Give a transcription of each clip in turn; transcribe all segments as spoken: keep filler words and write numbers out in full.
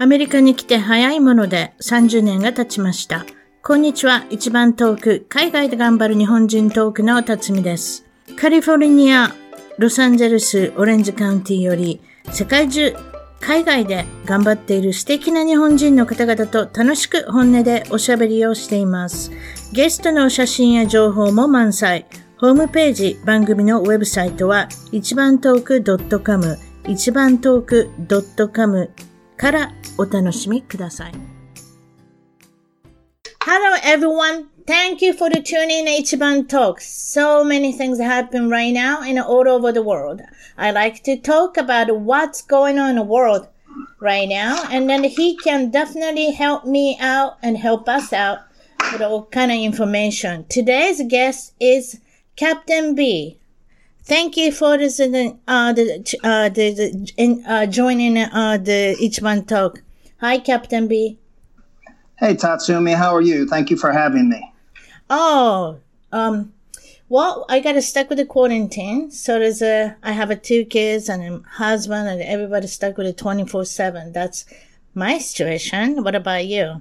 アメリカに来て早いものでさんじゅうねんが経ちました。こんにちは。一番遠く、海外で頑張る日本人トークの辰巳です。カリフォルニア、ロサンゼルス、オレンジカウンティより、世界中、海外で頑張っている素敵な日本人の方々と楽しく本音でおしゃべりをしています。ゲストの写真や情報も満載。ホームページ、番組のウェブサイトは、一番トーク .com、一番トーク .com からお楽しみください。Hello everyone, thank you for the tuning in Ichiban Talk. So many things happen right now and all over the world. I like to talk about what's going on in the world right now, and then he can definitely help me out and help us out with all kind of information. Today's guest is Captain B. Thank you for this, uh, the, uh, the, the, in, uh, joining, uh, the Ichiban Talk. Hi, Captain B. Hey, Tatsumi, how are you? Thank you for having me. Oh, um, well, I got stuck with the quarantine. So there's a, I have a two kids and a husband and everybody stuck with it twenty-four seven. That's my situation. What about you?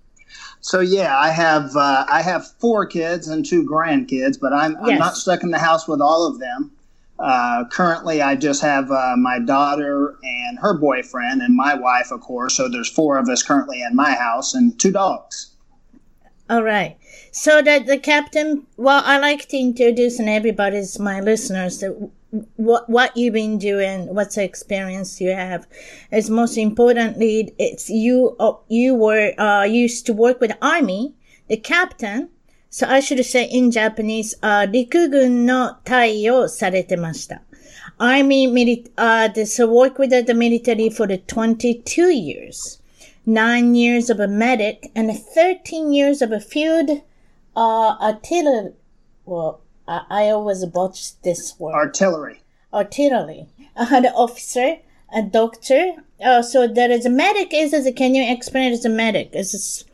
So yeah, I have, uh, I have four kids and two grandkids, but I'm, I'm yes. not stuck in the house with all of them. Uh, currently I just have, uh, my daughter and her boyfriend and my wife, of course. So there's four of us currently in my house and two dogs. All right. So that the captain, well, I like to introduce and everybody's my listeners that what, what you've been doing, what's the experience you have. It's most importantly, it's you, uh, you were, uh, used to work with the army, the captain. So I should say in Japanese, uh, 陸軍の隊をされてました。Army, mili- uh, so work with the military for the twenty-two years. Nine years of a medic and thirteen years of a field, uh, artillery. Well, I, I always botch this word. Artillery. Artillery. Uh, the officer, a doctor. Uh, so there is a medic. Is, is can you explain it as a medic? Is this,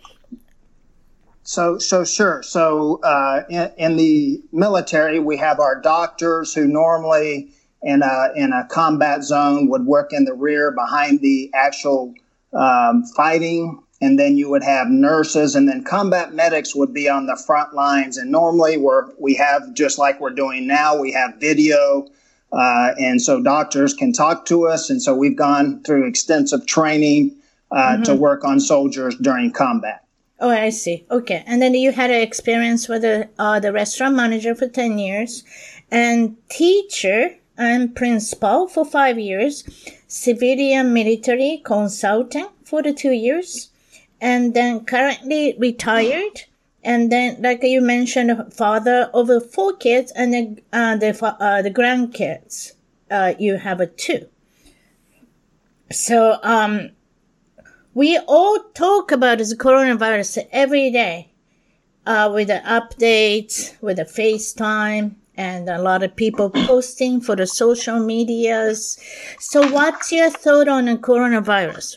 So, so sure. So, uh, in, in the military, we have our doctors who normally in a, in a combat zone would work in the rear behind the actual, um, fighting. And then you would have nurses, and then combat medics would be on the front lines. And normally we're, we have, just like we're doing now, we have video, uh, and so doctors can talk to us. And so we've gone through extensive training, uh, mm-hmm. to work on soldiers during combat. Oh, I see. Okay. And then you had an experience with the, uh, the restaurant manager for ten years and teacher and principal for five years, civilian military consultant for the two years, and then currently retired. And then, like you mentioned, father of four kids and the, uh, the, uh, the grandkids, uh, you have a two. So, um, we all talk about this coronavirus every day, uh, with the updates, with the FaceTime, and a lot of people posting for the social medias. So what's your thought on the coronavirus?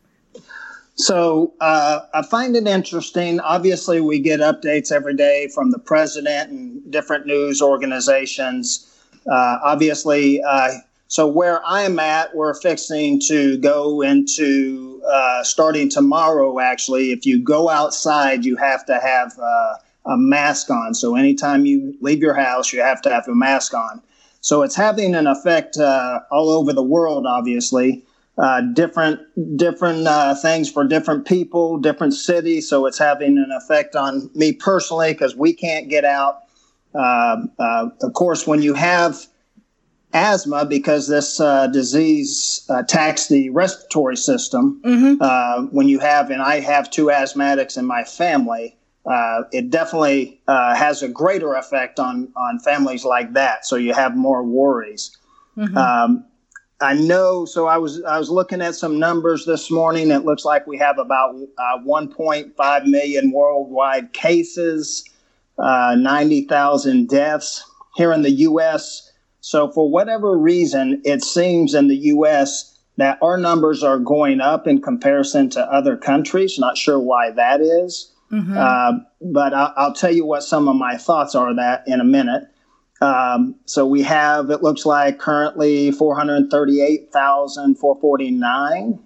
So uh, I find it interesting. Obviously, we get updates every day from the president and different news organizations. Uh, obviously, uh, so where I'm at, we're fixing to go into, uh, starting tomorrow, actually, if you go outside, you have to have uh, a mask on. So anytime you leave your house, you have to have a mask on. So it's having an effect uh, all over the world, obviously. Uh, different different uh, things for different people, different cities. So it's having an effect on me personally because we can't get out. Uh, uh, of course, when you have asthma, because this uh, disease attacks the respiratory system, mm-hmm. uh, when you have, and I have two asthmatics in my family, uh, it definitely uh, has a greater effect on, on families like that. So you have more worries. Mm-hmm. Um, I know. So I was I was looking at some numbers this morning. It looks like we have about uh, one point five million worldwide cases, uh, ninety thousand deaths here in the U S. So for whatever reason, it seems in the U S that our numbers are going up in comparison to other countries. Not sure why that is, mm-hmm. uh, but I'll, I'll tell you what some of my thoughts are that in a minute. Um, so we have, it looks like currently four hundred thirty-eight thousand four hundred forty-nine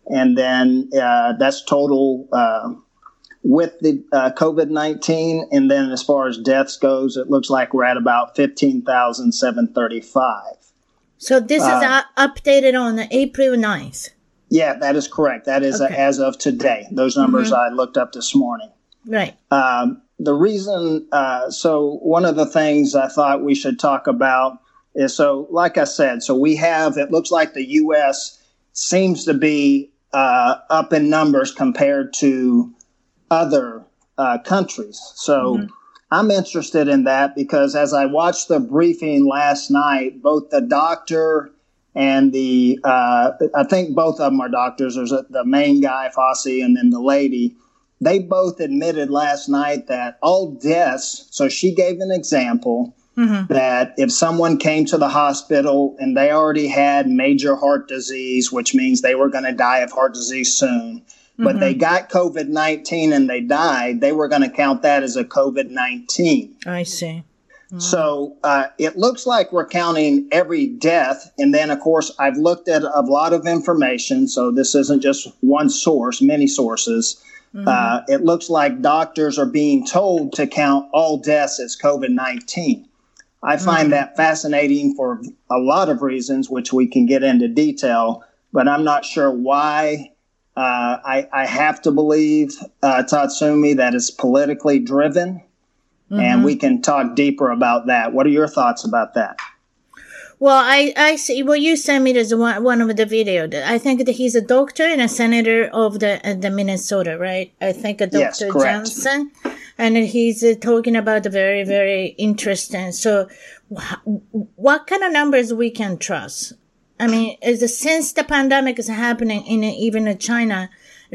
And then uh, that's total uh, with the uh, COVID nineteen. And then as far as deaths goes, it looks like we're at about fifteen thousand seven hundred thirty-five. So this is uh, uh, updated on April ninth. Yeah, that is correct. That is okay. uh, as of today. Those numbers mm-hmm. I looked up this morning. Right. Um, the reason, uh, so one of the things I thought we should talk about is, so like I said, so we have, it looks like the U S seems to be uh, up in numbers compared to other uh, countries. So mm-hmm. I'm interested in that because as I watched the briefing last night, both the doctor and the, uh, I think both of them are doctors. There's a, the main guy, Fauci, and then the lady. They both admitted last night that all deaths, so she gave an example mm-hmm. that if someone came to the hospital and they already had major heart disease, which means they were going to die of heart disease soon, mm-hmm. but they got COVID nineteen and they died, they were going to count that as a COVID nineteen. I see. Mm-hmm. So uh, it looks like we're counting every death. And then, of course, I've looked at a lot of information. So this isn't just one source, many sources. Mm-hmm. Uh, it looks like doctors are being told to count all deaths as COVID nineteen. I find mm-hmm. that fascinating for a lot of reasons, which we can get into detail, but I'm not sure why. Uh, I, I have to believe, uh, Tatsumi, that it's politically driven, mm-hmm. and we can talk deeper about that. What are your thoughts about that? Well, I, I see. Well, you sent me this one, one of the video. I think that he's a doctor and a senator of the uh, the Minnesota, right? I think a Doctor Yes, Johnson, and he's uh, talking about the very, very interesting. So, wh- what kind of numbers we can trust? I mean, is the, since the pandemic is happening in uh, even in China,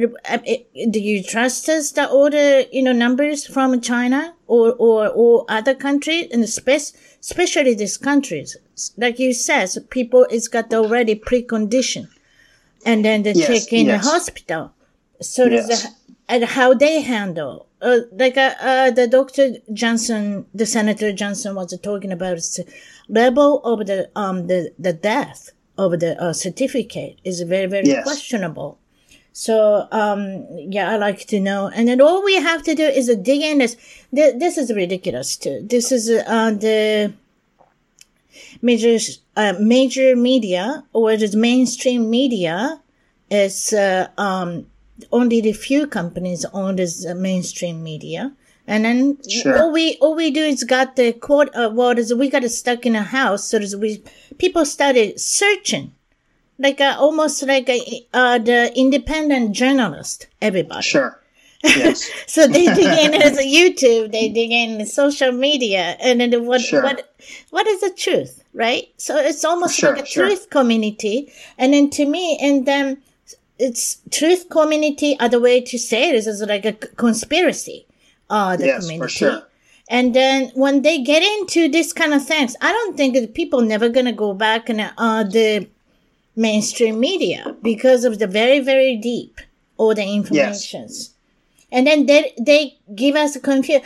do you trust us the all the you know numbers from China or or or other countries, and especially especially these countries? Like you said, so people it's got already precondition, and then they yes, check in yes. the hospital. So yes. there's a, and how they handle, uh, like uh, uh, the Doctor Johnson, the Senator Johnson was talking about is the level of the um the the death of the uh, certificate is very very yes. questionable. So, um, yeah, I like to know. And then all we have to do is uh, dig in this. This is ridiculous too. This is, uh, the major, uh, major media or the mainstream media is, uh, um, only the few companies own this uh, mainstream media. And then sure. all we, all we do is got the quote, uh, what is, we got stuck in a house. So we, people started searching. Like a, almost like a, uh, the independent journalist, everybody. Sure. Yes. So they dig in as a YouTube, they dig in social media, and then what, sure. what, what is the truth, right? So it's almost sure, like a sure. truth community. And then to me, and then it's truth community, other way to say it is, is like a conspiracy, uh, the yes, community. For sure. And then when they get into this kind of things, I don't think that people never gonna go back and, uh, the, mainstream media because of the very, very deep all the informations. Yes. And then they, they give us a confuse.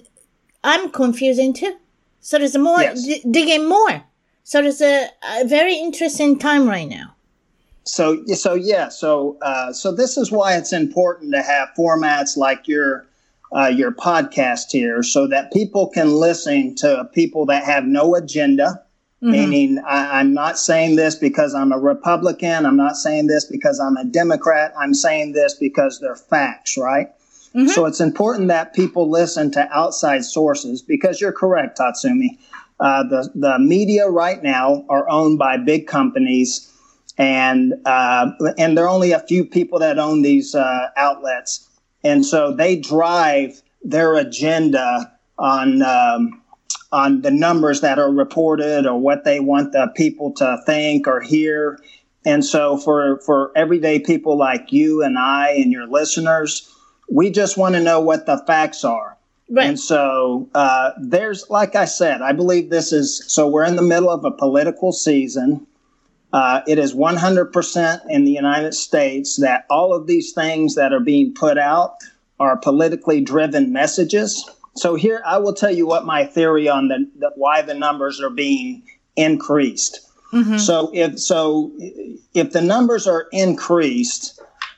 I'm confusing too. So there's more, yes. d- digging more. So there's a, a very interesting time right now. So, so yeah, so, uh, so this is why it's important to have formats like your, uh, your podcast here so that people can listen to people that have no agenda. Mm-hmm. Meaning, I, I'm not saying this because I'm a Republican. I'm not saying this because I'm a Democrat. I'm saying this because they're facts, right? Mm-hmm. So it's important that people listen to outside sources because you're correct, Tatsumi. Uh, the, the media right now are owned by big companies, and uh, and there are only a few people that own these uh, outlets. And so they drive their agenda on um, on the numbers that are reported or what they want the people to think or hear. And so for, for everyday people like you and I and your listeners, we just want to know what the facts are. Right. And so uh, there's, like I said, I believe this is, so we're in the middle of a political season. Uh, it is one hundred percent in the United States that all of these things that are being put out are politically driven messages. So here, I will tell you what my theory on the, the why the numbers are being increased. Mm-hmm. So if so, if the numbers are increased,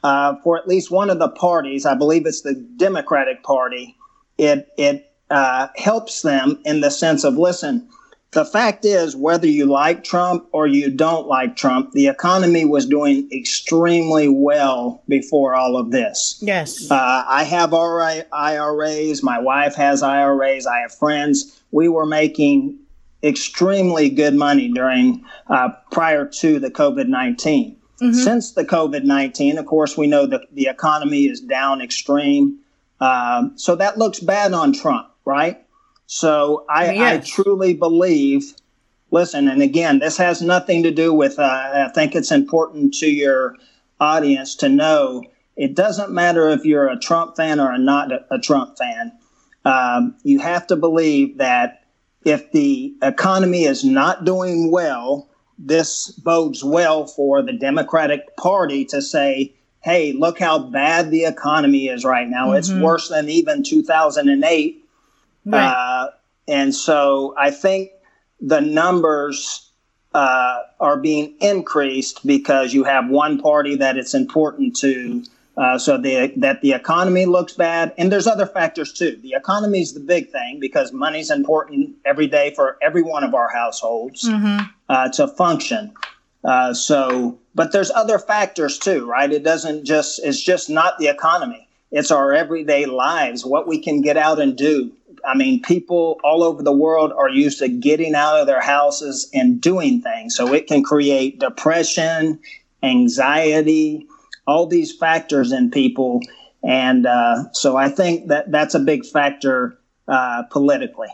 uh, for at least one of the parties, I believe it's the Democratic Party, it it uh, helps them in the sense of, listen, the fact is, whether you like Trump or you don't like Trump, the economy was doing extremely well before all of this. Yes. Uh, I have I R As. My wife has I R As. I have friends. We were making extremely good money during uh, prior to the COVID nineteen. Mm-hmm. Since the COVID nineteen, of course, we know that the economy is down extreme. Um, so that looks bad on Trump, right? So I, yes. I truly believe, listen, and again, this has nothing to do with, uh, I think it's important to your audience to know, it doesn't matter if you're a Trump fan or not a, a Trump fan. Um, you have to believe that if the economy is not doing well, this bodes well for the Democratic Party to say, hey, look how bad the economy is right now. Mm-hmm. It's worse than even two thousand eight. Right. Uh, and so I think the numbers uh, are being increased because you have one party that it's important to, uh, so the, that the economy looks bad. And there's other factors, too. The economy is the big thing because money's important every day for every one of our households mm-hmm. uh, to function. Uh, so, but there's other factors, too, right? It doesn't just, it's just not the economy. It's our everyday lives, what we can get out and do. I mean, people all over the world are used to getting out of their houses and doing things. So it can create depression, anxiety, all these factors in people. And uh, so I think that that's a big factor uh, politically.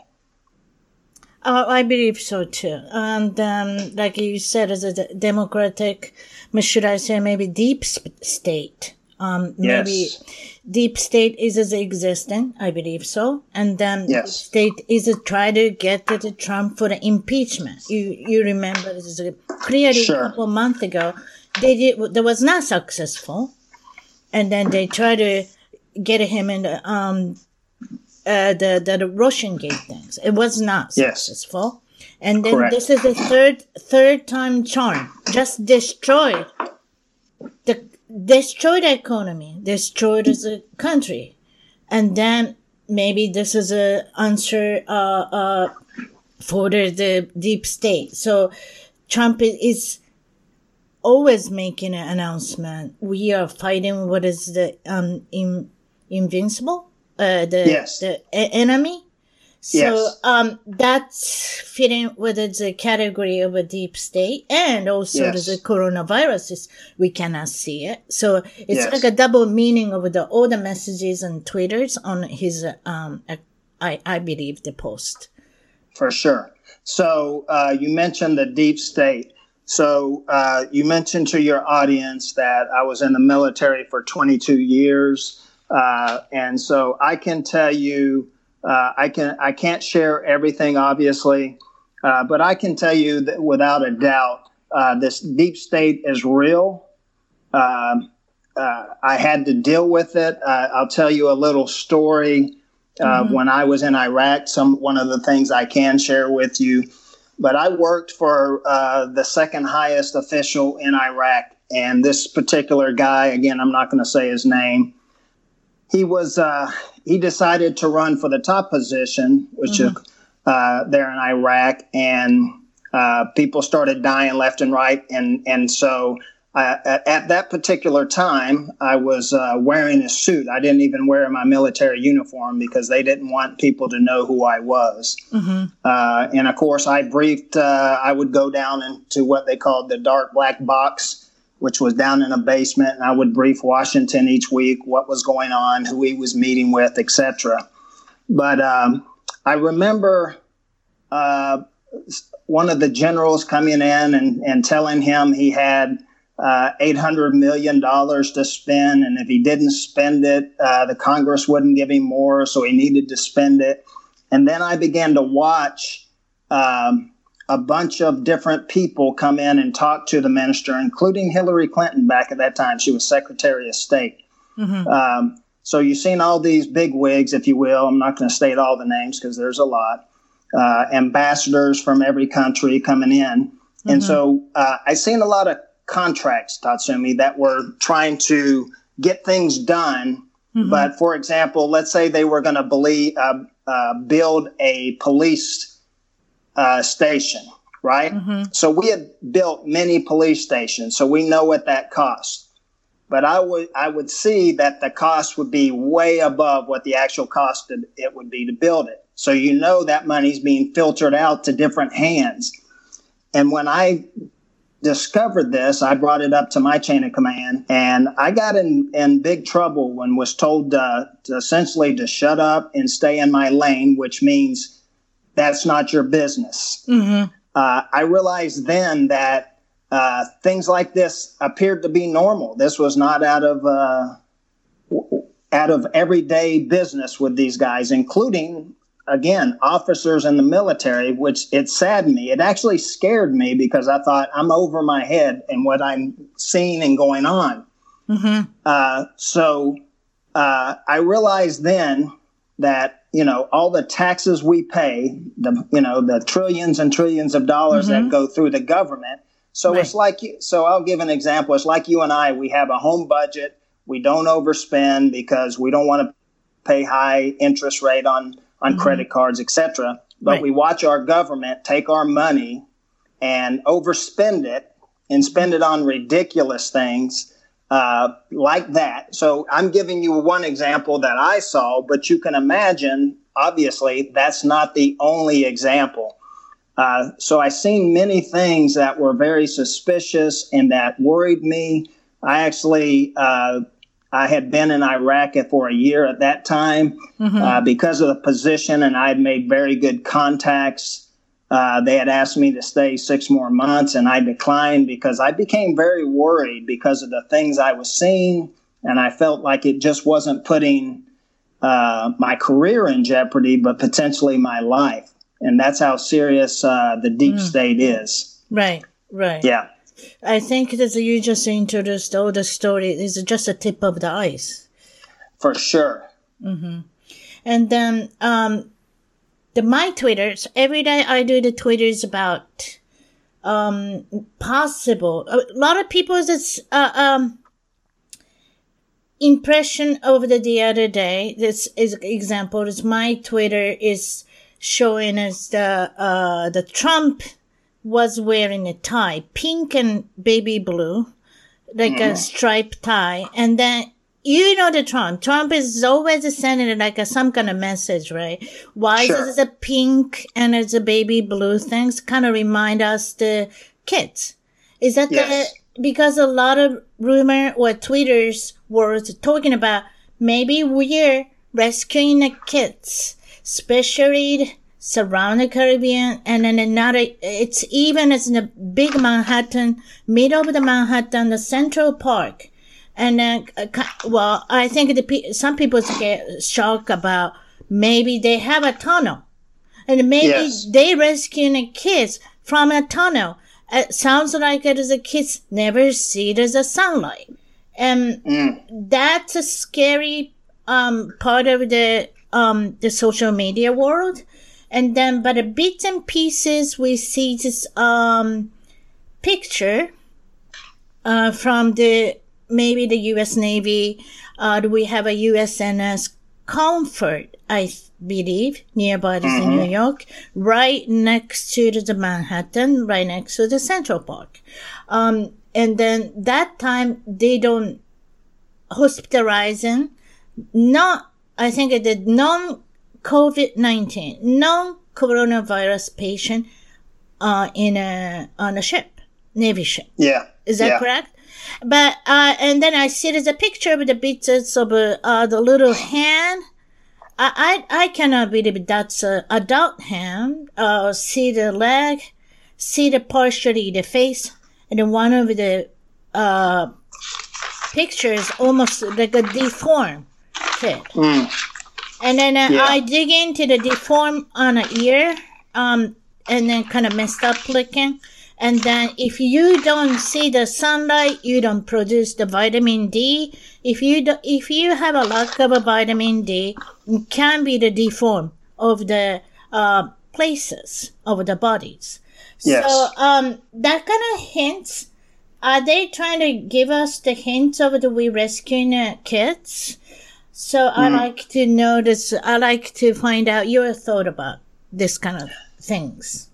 Uh, I believe so, too. And um, like you said, as a democratic, should I say maybe deep state. Um, yes. Maybe deep state is as existing, I believe so. And then yes. state is a try to get to the Trump for the impeachment. You you remember this is a, clearly sure. a couple of months ago, they did, that was not successful. And then they tried to get him in the, um, uh, the, the, the Russian gate things. It was not yes. successful. And then Correct. This is the third, third time charm. Just destroyed the, destroyed the economy, destroyed as a country. And then maybe this is a answer, uh, uh, for the, the deep state. So Trump is always making an announcement. We are fighting what is the, um, in, invincible, uh, the, yes. the enemy. So, yes. um, that's fitting within the category of a deep state, and also yes. the coronavirus is, we cannot see it. So it's yes. like a double meaning of the, all the messages and tweeters on his, um, I, I believe the post. For sure. So, uh, you mentioned the deep state. So, uh, you mentioned to your audience that I was in the military for twenty-two years. Uh, and so I can tell you, Uh, I can I can't share everything, obviously, uh, but I can tell you that without a doubt, uh, this deep state is real. Um, uh, I had to deal with it. Uh, I'll tell you a little story. Uh, mm-hmm. When I was in Iraq, some one of the things I can share with you. But I worked for uh, the second highest official in Iraq, and this particular guy, again, I'm not going to say his name. He was uh, he decided to run for the top position, which mm-hmm. is uh, there in Iraq, and uh, people started dying left and right. And and so uh, at, at that particular time, I was uh, wearing a suit. I didn't even wear my military uniform because they didn't want people to know who I was. Mm-hmm. Uh, and of course, I briefed. Uh, I would go down into what they called the dark black box, which was down in a basement, and I would brief Washington each week what was going on, who he was meeting with, et cetera. But um, I remember uh, one of the generals coming in and, and telling him he had uh, eight hundred million dollars to spend, and if he didn't spend it, uh, the Congress wouldn't give him more, so he needed to spend it. And then I began to watch um, a bunch of different people come in and talk to the minister, including Hillary Clinton back at that time. She was Secretary of State. Mm-hmm. Um, so you've seen all these big wigs, if you will. I'm not going to state all the names because there's a lot. Uh, ambassadors from every country coming in. Mm-hmm. And so uh, I've seen a lot of contracts, Tatsumi, that were trying to get things done. Mm-hmm. But for example, let's say they were going to believe, uh, uh, build a police uh, station, right? Mm-hmm. So we had built many police stations, so we know what that cost. But I would I would see that the cost would be way above what the actual cost of it would be to build it. So you know that money's being filtered out to different hands. And when I discovered this, I brought it up to my chain of command, and I got in, in big trouble when was told uh, to essentially to shut up and stay in my lane, which means that's not your business. Mm-hmm. Uh, I realized then that Uh, things like this appeared to be normal. This was not out of uh, out of everyday business with these guys, including, again, officers in the military, which it saddened me. It actually scared me because I thought I'm over my head in what I'm seeing and going on. Mm-hmm. Uh, so uh, I realized then that, you know, all the taxes we pay, the you know, the trillions and trillions of dollars mm-hmm. that go through the government. So right. It's like, so I'll give an example. It's like you and I, we have a home budget. We don't overspend because we don't want to pay high interest rate on, on mm-hmm. credit cards, et cetera. But right. we watch our government take our money and overspend it and spend it on ridiculous things uh, like that. So I'm giving you one example that I saw, but you can imagine, obviously, that's not the only example. Uh, so I seen many things that were very suspicious and that worried me. I actually, uh, I had been in Iraq for a year at that time mm-hmm. uh, because of the position, and I had made very good contacts. Uh, they had asked me to stay six more months, and I declined because I became very worried because of the things I was seeing, and I felt like it just wasn't putting uh, my career in jeopardy, but potentially my life. And that's how serious uh, the deep mm. state is. Right, right. Yeah. I think that you just introduced all the story. It's just a tip of the ice. For sure. Mm-hmm. And then um, the my Twitters, every day I do the Twitters about um, possible. A lot of people's uh, um, impression over the, the other day, this is example, is my Twitter is showing us the uh the Trump was wearing a tie, pink and baby blue, like mm. a striped tie, and then you know the Trump. Trump is always sending like a, some kind of message, right? Why sure. is it a pink and it's a baby blue? Things kind of remind us the kids. Is that yes. the because a lot of rumor or tweeters were talking about maybe we're rescuing the kids. Especially surround the Caribbean, and then another, it's even as in the big Manhattan, middle of the Manhattan, the Central Park. And, uh, well, I think the some people get shocked about maybe they have a tunnel. And maybe yes. they rescuing the kids from a tunnel. It sounds like it is the kids never see there's a sunlight. And mm. that's a scary um part of the um, the social media world. And then, but the bits and pieces, we see this, um, picture, uh, from the, maybe the U S Navy. Uh, we have a U S N S Comfort, I believe, nearby mm-hmm. in New York, right next to the Manhattan, right next to the Central Park. Um, and then that time they don't hospitalizing, not, I think it did non-COVID nineteen, non-coronavirus patient uh, in a on a ship, Navy ship. Yeah. Is that yeah. correct? But, uh, and then I see there's a picture with the bits of uh, the little hand. I, I, I cannot believe that's an adult hand. Uh, see the leg, see the partially the face, and then one of the uh, pictures almost like a deformed kid. Mm. And then uh, yeah. I dig into the deform on a ear, um, and then kind of messed up looking. And then if you don't see the sunlight, you don't produce the vitamin D. If you do, if you have a lack of a vitamin D, it can be the deform of the uh, places of the bodies. Yes. So um, that kind of hints are they trying to give us the hints of the we rescuing uh, kids? So mm. I like to know this. I like to find out your thought about this kind of things.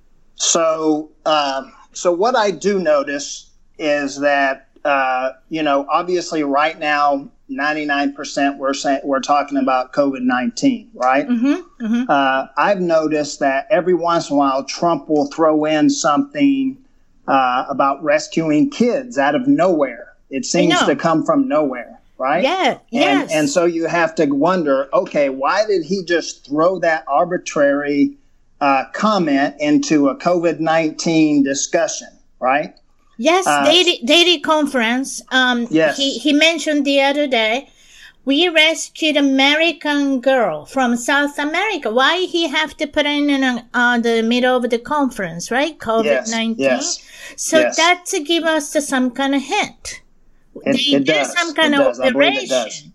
So, uh, so what I do notice is that, uh, you know, obviously right now, ninety-nine percent we're saying we're talking about COVID nineteen, right? Mm-hmm, mm-hmm. Uh, I've noticed that every once in a while, Trump will throw in something uh, about rescuing kids out of nowhere. It seems to come from nowhere, right? Yeah, and, yes. And so you have to wonder, okay, why did he just throw that arbitrary uh, comment into a COVID nineteen discussion, right? Yes, uh, daily, daily conference. Um, yes. He, he mentioned the other day, we rescued American girl from South America. Why he have to put in in uh, the middle of the conference, right? COVID nineteen. Yes, yes, so yes. that to give us some kind of hint. It, they it do does. some kind it of does. operation. I believe it does.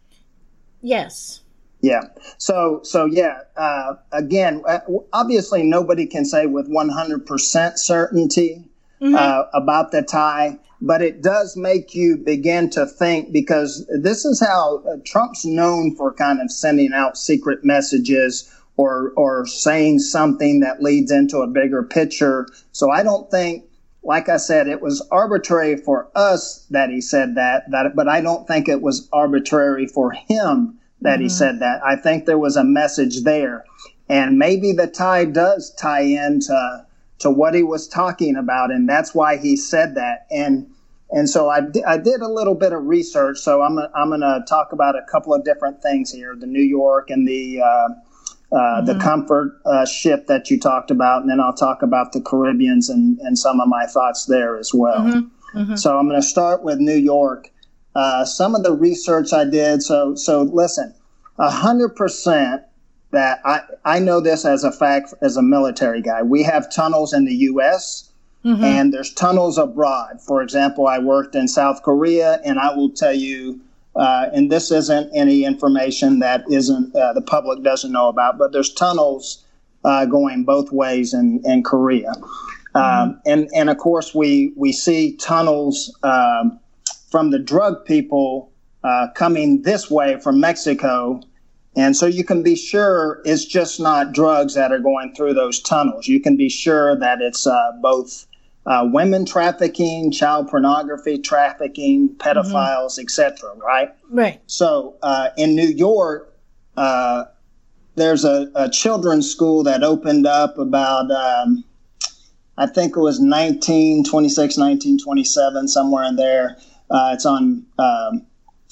Yes. Yeah. So, so yeah, uh, again, obviously nobody can say with one hundred percent certainty mm-hmm. uh, about the tie, but it does make you begin to think, because this is how uh, Trump's known for kind of sending out secret messages or, or saying something that leads into a bigger picture. So I don't think, like I said, it was arbitrary for us that he said that, that, but I don't think it was arbitrary for him that mm-hmm. he said that. I think there was a message there. And maybe the tie does tie into to what he was talking about, and that's why he said that. And and so I, d- I did a little bit of research, so I'm, a, I'm going to talk about a couple of different things here, the New York and the uh, uh, mm-hmm. the Comfort uh, ship that you talked about, and then I'll talk about the Caribbeans and, and some of my thoughts there as well. Mm-hmm. Mm-hmm. So I'm going to start with New York. Uh, some of the research I did, so so listen, one hundred percent that I, I know this as a fact as a military guy. We have tunnels in the U S mm-hmm. and there's tunnels abroad. For example, I worked in South Korea, and I will tell you, uh, and this isn't any information that isn't uh, the public doesn't know about, but there's tunnels uh, going both ways in, in Korea. Mm-hmm. Um, and, and of course, we, we see tunnels um, from the drug people uh, coming this way from Mexico. And so you can be sure it's just not drugs that are going through those tunnels. You can be sure that it's uh, both uh, women trafficking, child pornography trafficking, pedophiles, mm-hmm. et cetera, right? Right. So uh, in New York, uh, there's a, a children's school that opened up about, um, I think it was nineteen twenty-six, nineteen twenty-seven, somewhere in there. Uh, it's on... Um,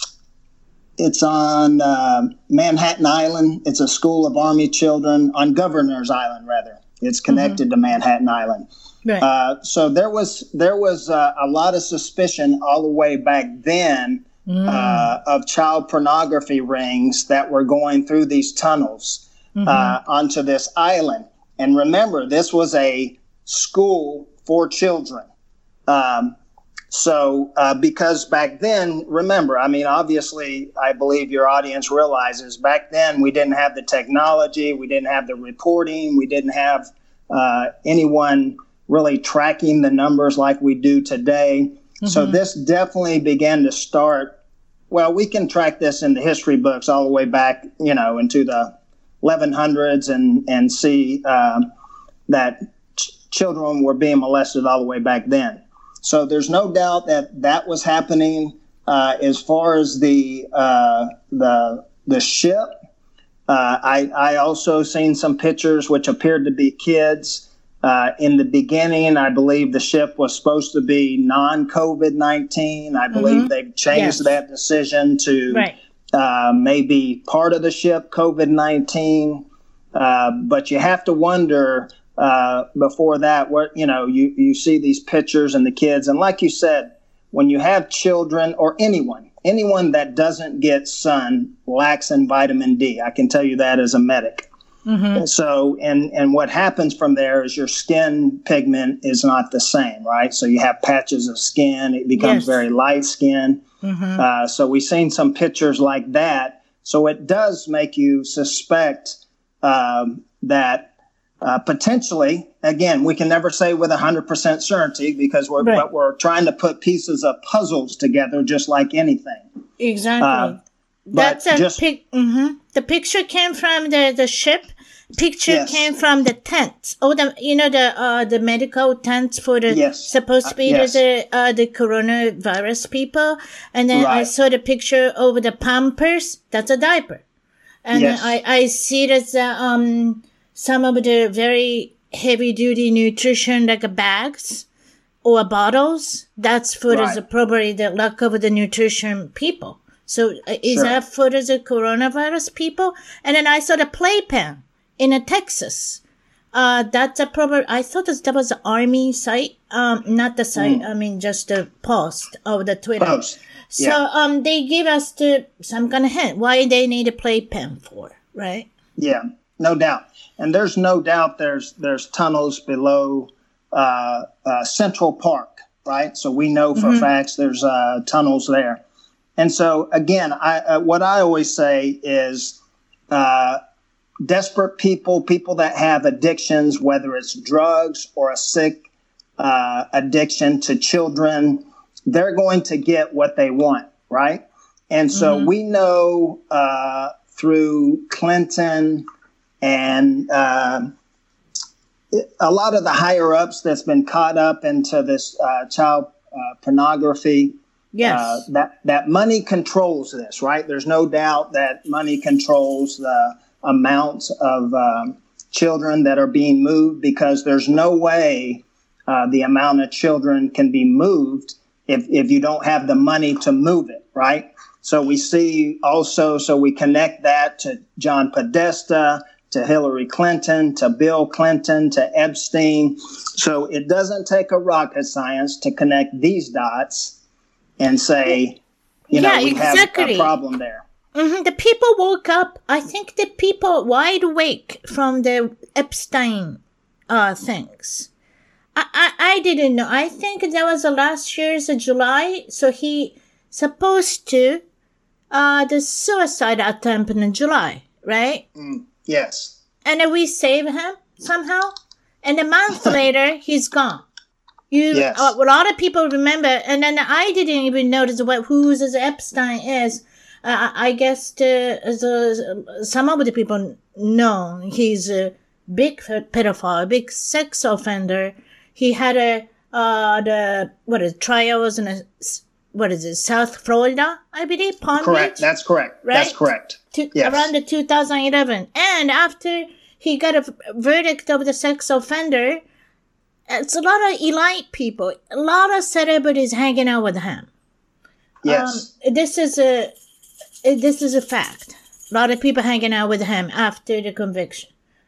It's on uh, Manhattan Island. It's a school of Army children on Governor's Island, rather. It's connected mm-hmm. to Manhattan Island. Right. Uh, so there was there was uh, a lot of suspicion all the way back then mm. uh, of child pornography rings that were going through these tunnels mm-hmm. uh, onto this island. And remember, this was a school for children. Um, So, uh, because back then, remember, I mean, obviously, I believe your audience realizes back then we didn't have the technology, we didn't have the reporting, we didn't have uh, anyone really tracking the numbers like we do today. Mm-hmm. So this definitely began to start. Well, we can track this in the history books all the way back, you know, into the eleven hundreds and, and see uh, that ch- children were being molested all the way back then. So there's no doubt that that was happening. Uh, as far as the uh, the the ship, uh, I I also seen some pictures which appeared to be kids. Uh, in the beginning, I believe the ship was supposed to be non-COVID nineteen. I believe mm-hmm. they've changed yes. that decision to right. uh, maybe part of the ship COVID nineteen. Uh, but you have to wonder. Uh, before that, where you know you, you see these pictures and the kids, and like you said, when you have children or anyone, anyone that doesn't get sun lacks in vitamin D. I can tell you that as a medic. Mm-hmm. So, and and what happens from there is your skin pigment is not the same, right? So you have patches of skin; it becomes yes. very light skin. Mm-hmm. Uh, so we've seen some pictures like that. So it does make you suspect um, that. uh, potentially, again, we can never say with one hundred percent certainty because we're, right. but we're trying to put pieces of puzzles together just like anything. Exactly. Uh, That's a just, pic. Mm-hmm. The picture came from the, the ship. Picture yes. came from the tents. Oh, the you know the uh the medical tents for the yes. supposed to be uh, yes. the uh the coronavirus people. And then right. I saw the picture over the Pampers. That's a diaper. And yes. I I see that uh, um some of the very heavy duty nutrition like bags or bottles. That's for right. the probably the lack of the nutrition people. So uh, is sure. that for the coronavirus people? And then I saw the playpen in a Texas. Uh, that's a proper, I thought that was the army site. Um, not the site, mm. I mean, just the post of the Twitter. Post. So, yeah. um, they give us the, some kind of hint why they need a playpen for, right? Yeah, no doubt. And there's no doubt there's, there's tunnels below, uh, uh, Central Park, right? So we know for mm-hmm. facts there's, uh, tunnels there. And so again, I, uh, what I always say is, uh, desperate people, people that have addictions, whether it's drugs or a sick uh, addiction to children, they're going to get what they want, right? And so mm-hmm. we know uh, through Clinton and uh, a lot of the higher ups that's been caught up into this uh, child uh, pornography. Yes. Uh, that, that money controls this, right? There's no doubt that money controls the amounts of um, children that are being moved because there's no way uh, the amount of children can be moved if, if you don't have the money to move it, right? So we see also, so we connect that to John Podesta, to Hillary Clinton, to Bill Clinton, to Epstein. So it doesn't take a rocket science to connect these dots and say, you know, yeah, we exactly. have a problem there. Mm-hmm. The people woke up. I think the people wide awake from the Epstein uh, things. I, I I didn't know. I think that was the last year's uh, July. So he supposed to uh the suicide attempt in July, right? Mm, yes. And then we save him somehow. And a month later, he's gone. You yes. uh, a lot of people remember. And then I didn't even notice what who this Epstein is. Uh, I guess the, the, some of the people know he's a big pedophile, a big sex offender. He had a, uh, the, what is it, trials in a, what is it, South Florida, I believe, Palm Correct. Beach? That's correct. Right? That's correct. To, yes. Around the two thousand eleven. And after he got a verdict of the sex offender, it's a lot of elite people, a lot of celebrities hanging out with him. Yes. Um, this is a, This is a fact. A lot of people hanging out with him after the conviction.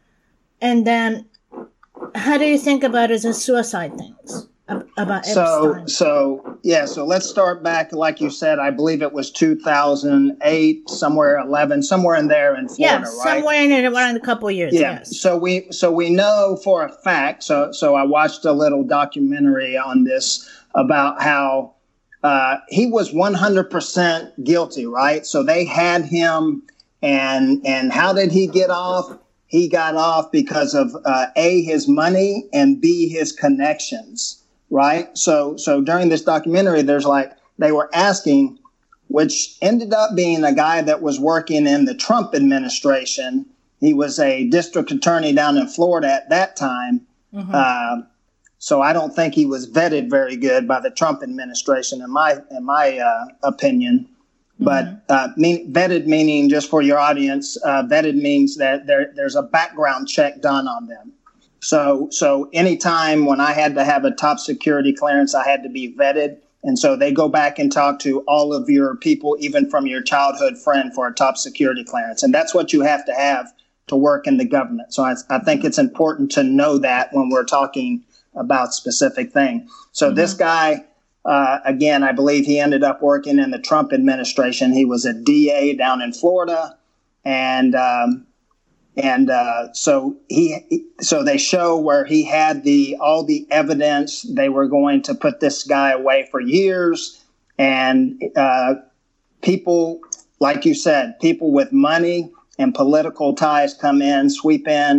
And then, how do you think about it as a suicide things? About so, Epstein? So, yeah, so let's start back, like you said, I believe it was two thousand eight, somewhere eleven, somewhere in there in Florida, yeah, right? somewhere in it around a couple of years, yeah. yes. So we, so we know for a fact, so, so I watched a little documentary on this about how Uh, he was one hundred percent guilty, right? So they had him, and and how did he get off? He got off because of uh, A, his money, and B, his connections, right? So so during this documentary, there's like, they were asking, which ended up being a guy that was working in the Trump administration. He was a district attorney down in Florida at that time. Mm-hmm. Uh, So I don't think he was vetted very good by the Trump administration, in my in my uh, opinion. But uh, mean, vetted meaning, just for your audience, uh, vetted means that there there's a background check done on them. So so anytime when I had to have a top security clearance, I had to be vetted. And so they go back and talk to all of your people, even from your childhood friend, for a top security clearance. And that's what you have to have to work in the government. So I, I think it's important to know that when we're talking about specific thing. So mm-hmm. this guy, uh, again, I believe he ended up working in the Trump administration. He was a D A down in Florida. And um, and uh, so he so they show where he had the all the evidence. They were going to put this guy away for years. And uh, people, like you said, people with money and political ties come in, sweep in,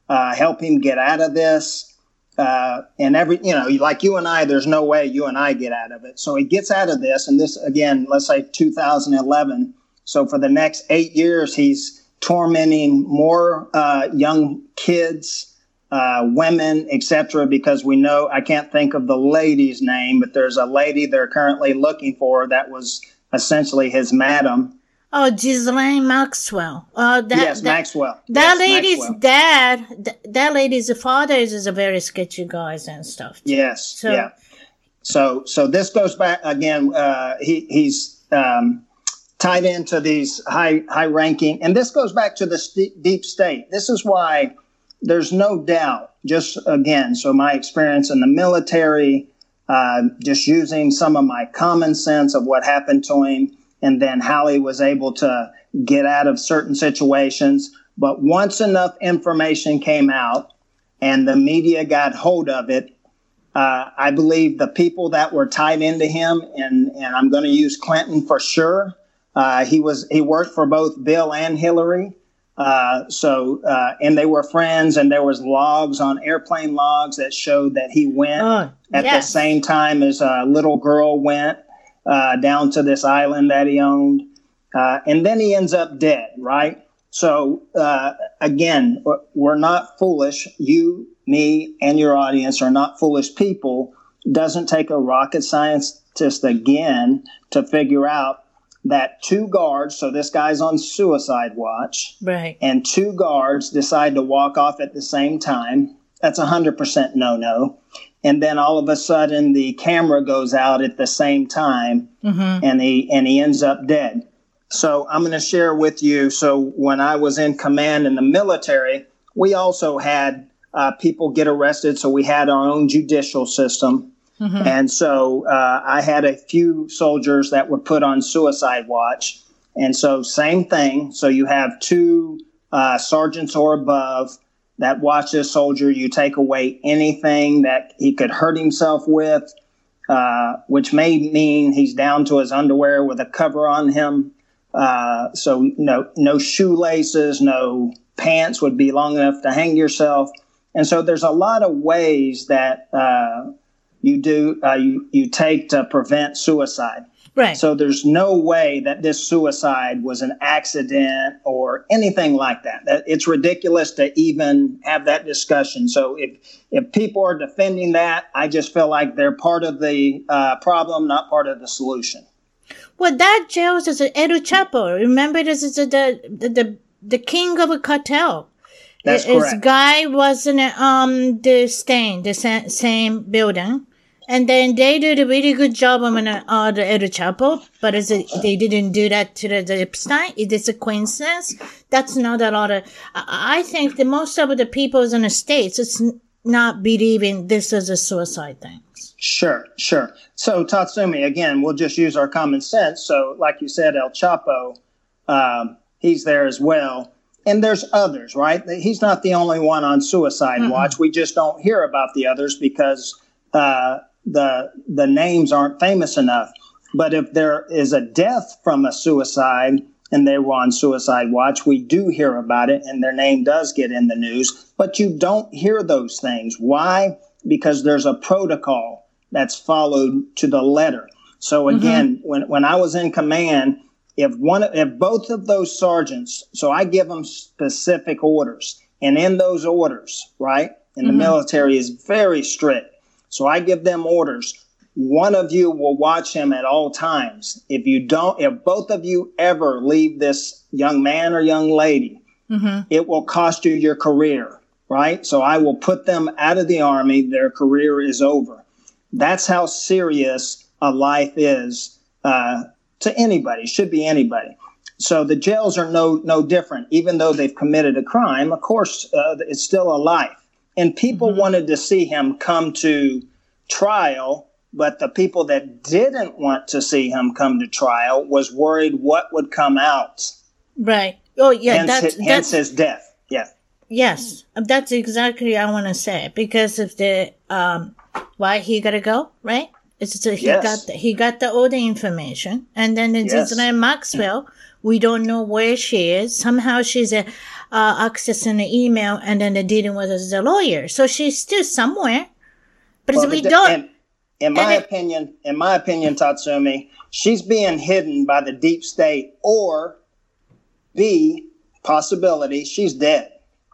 uh, help him get out of this. Uh, and every, you know, like you and I, there's no way you and I get out of it. So he gets out of this. And this, again, let's say two thousand eleven. So for the next eight years, he's tormenting more uh, young kids, uh, women, et cetera, because we know, I can't think of the lady's name, but there's a lady they're currently looking for that was essentially his madam. Oh, Ghislaine Maxwell. Uh, that, yes, that, Maxwell. That yes, lady's Maxwell. dad, th- that lady's father is, is a very sketchy guy and stuff. Too. Yes, so, yeah. So, so this goes back again. Uh, he he's um, tied into these high high ranking, and this goes back to the st- deep state. This is why there's no doubt. Just again, so my experience in the military, uh, just using some of my common sense of what happened to him. And then how he was able to get out of certain situations. But once enough information came out and the media got hold of it, uh, I believe the people that were tied into him, and, and I'm going to use Clinton for sure. Uh, he was he worked for both Bill and Hillary. Uh, so uh, and they were friends, and there was logs on airplane logs that showed that he went oh, at yes. the same time as a little girl went. Uh, down to this island that he owned. Uh, and then he ends up dead, right? So, uh, again, we're not foolish. You, me, and your audience are not foolish people. Doesn't take a rocket scientist, again, to figure out that two guards, so this guy's on suicide watch, right, and two guards decide to walk off at the same time. That's one hundred percent no-no. And then all of a sudden the camera goes out at the same time, mm-hmm. and he and he ends up dead. So I'm going to share with you. So when I was in command in the military, we also had uh, people get arrested. So we had our own judicial system. Mm-hmm. And so uh, I had a few soldiers that were put on suicide watch. And so same thing. So you have two uh, sergeants or above that watch this soldier. You take away anything that he could hurt himself with, uh, which may mean he's down to his underwear with a cover on him. Uh, so no, no shoelaces, no pants would be long enough to hang yourself. And so there's a lot of ways that uh, you do uh, you you take to prevent suicide. Right. So there's no way that this suicide was an accident or anything like that. It's ridiculous to even have that discussion. So if if people are defending that, I just feel like they're part of the uh, problem, not part of the solution. Well, that jail is El Chapo. Remember, this is the the the, the king of a cartel. That's His correct. guy was in um the same the sa- same building. And then they did a really good job on uh, the El Chapo, but is it, they didn't do that to the, the Epstein. Is this a coincidence? That's not a lot of. I think the most of the people in the States it's not believing this is a suicide thing. Sure, sure. So Tatsumi, again, we'll just use our common sense. So, like you said, El Chapo, um, he's there as well. And there's others, right? He's not the only one on suicide mm-hmm. watch. We just don't hear about the others because uh, the the names aren't famous enough. But if there is a death from a suicide and they were on suicide watch, we do hear about it and their name does get in the news. But you don't hear those things. Why? Because there's a protocol that's followed to the letter. So again, mm-hmm. when, when I was in command, if one, if both of those sergeants, so I give them specific orders, and in those orders, right, and mm-hmm. the military is very strict. So I give them orders. One of you will watch him at all times. If you don't, if both of you ever leave this young man or young lady, mm-hmm. it will cost you your career, right? So I will put them out of the Army. Their career is over. That's how serious a life is uh, to anybody, should be anybody. So the jails are no no different. Even though they've committed a crime, of course, uh, it's still a life. And people mm-hmm. wanted to see him come to trial, but the people that didn't want to see him come to trial was worried what would come out. Right. Oh, yeah. Hence, that's, his, that's, hence his death. Yeah. Yes. That's exactly what I want to say. Because of the, um, why he got to go, right? It's a, he Yes. got the, he got the all the information, and then the Yes. Ghislaine Maxwell, we don't know where she is. Somehow she's uh, uh, accessing the email, and then the dealing with the lawyer, so she's still somewhere. But Well, we the- don't. in, in my and it- opinion, in my opinion, Tatsumi, she's being hidden by the deep state, or B, possibility, she's dead.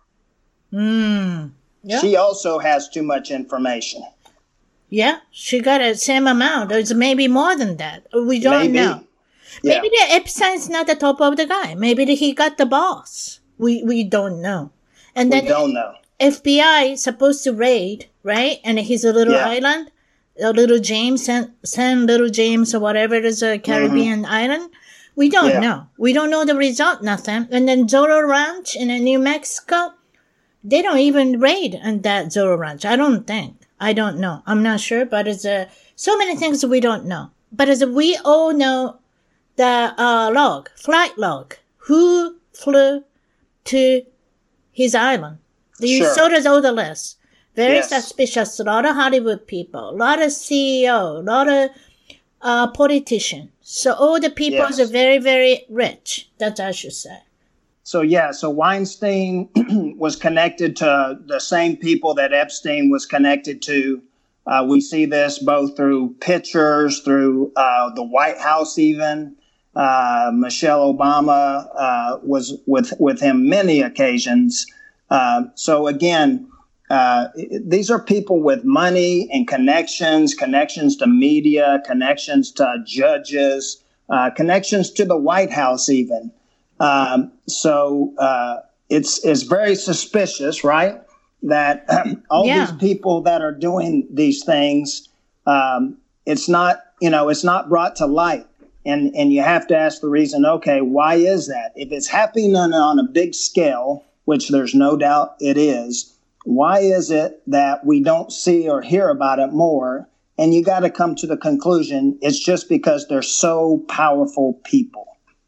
Mm, yeah. She also has too much information. Yeah, she got a same amount. It's maybe more than that. We don't Maybe. know. Yeah. Maybe the Epstein's not the top of the guy. Maybe the, he got the boss. We we don't know. And We then don't know. F B I supposed to raid, right? And he's a little Yeah. island, a little James, San, San Little James or whatever it is, a Caribbean island. We don't Yeah. know. We don't know the result, nothing. And then Zorro Ranch in uh, New Mexico, they don't even raid on that Zorro Ranch. I don't think. I don't know. I'm not sure, but it's uh, so many things we don't know. But as we all know, the uh, log, flight log, who flew to his island. You Sure. saw does all the list. Very Yes. suspicious. A lot of Hollywood people, a lot of C E O, a lot of uh, politicians. So all the people Yes. are very, very rich. That I should say. So, yeah, so Weinstein was connected to the same people that Epstein was connected to. Uh, we see this both through pictures, through uh, the White House even. Uh, Michelle Obama uh, was with, with him many occasions. Uh, so, again, uh, these are people with money and connections, connections to media, connections to judges, uh, connections to the White House even. Um, so uh, it's it's very suspicious, right? That all Yeah. these people that are doing these things, um, it's not you know it's not brought to light, and and you have to ask the reason. Okay, why is that? If it's happening on, on a big scale, which there's no doubt it is, why is it that we don't see or hear about it more? And you got to come to the conclusion it's just because they're so powerful people.